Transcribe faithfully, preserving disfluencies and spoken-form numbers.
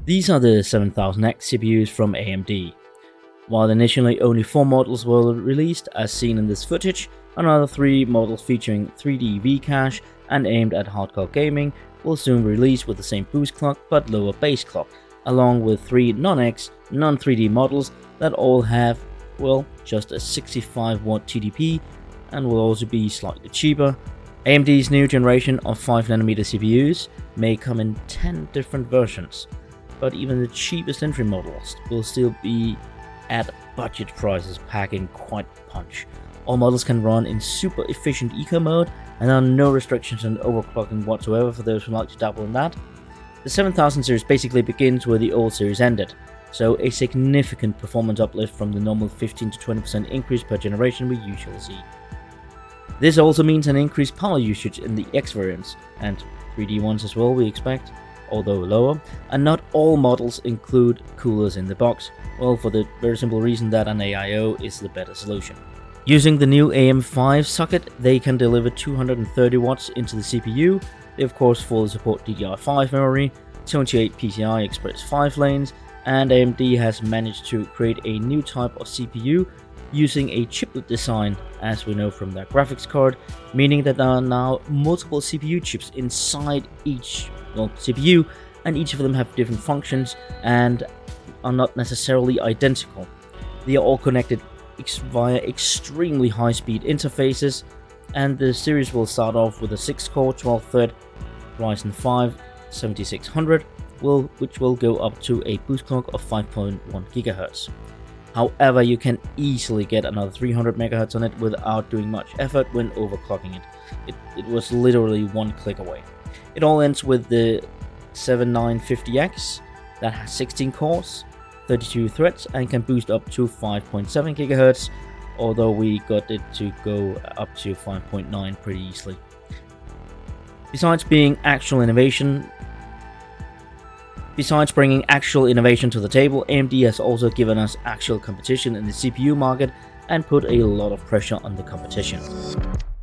These are the seven thousand X C P Us from A M D. While initially only four models were released as seen in this footage, another three models featuring three D V-Cache and aimed at hardcore gaming will soon release with the same boost clock but lower base clock, along with three non-X, non three D models that all have, well, just a sixty-five watt T D P and will also be slightly cheaper. A M D's new generation of five nanometer C P Us may come in ten different versions, but even the cheapest entry models will still be at budget prices, packing quite punch. All models can run in super efficient eco mode and there are no restrictions on overclocking whatsoever for those who like to dabble in that. The seven thousand series basically begins where the old series ended, so a significant performance uplift from the normal fifteen to twenty percent increase per generation we usually see. This also means an increased power usage in the X variants, and three D ones as well we expect, although lower, and not all models include coolers in the box, well, for the very simple reason that an A I O is the better solution. Using the new A M five socket, they can deliver two hundred thirty watts into the C P U. They of course fully support D D R five memory, twenty-eight P C I Express five lanes, and A M D has managed to create a new type of C P U using a chiplet design, as we know from their graphics card, meaning that there are now multiple C P U chips inside each well, C P U, and each of them have different functions and are not necessarily identical. They are all connected ex via extremely high-speed interfaces, and the series will start off with a six core twelve thread Ryzen five seventy-six hundred, will, which will go up to a boost clock of five point one gigahertz. However, you can easily get another three hundred megahertz on it without doing much effort when overclocking it. It, it was literally one click away. It all ends with the seventy-nine fifty X that has sixteen cores, thirty-two threads, and can boost up to five point seven gigahertz, although we got it to go up to five point nine pretty easily. Besides being actual innovation, Besides bringing actual innovation to the table, A M D has also given us actual competition in the C P U market and put a lot of pressure on the competition.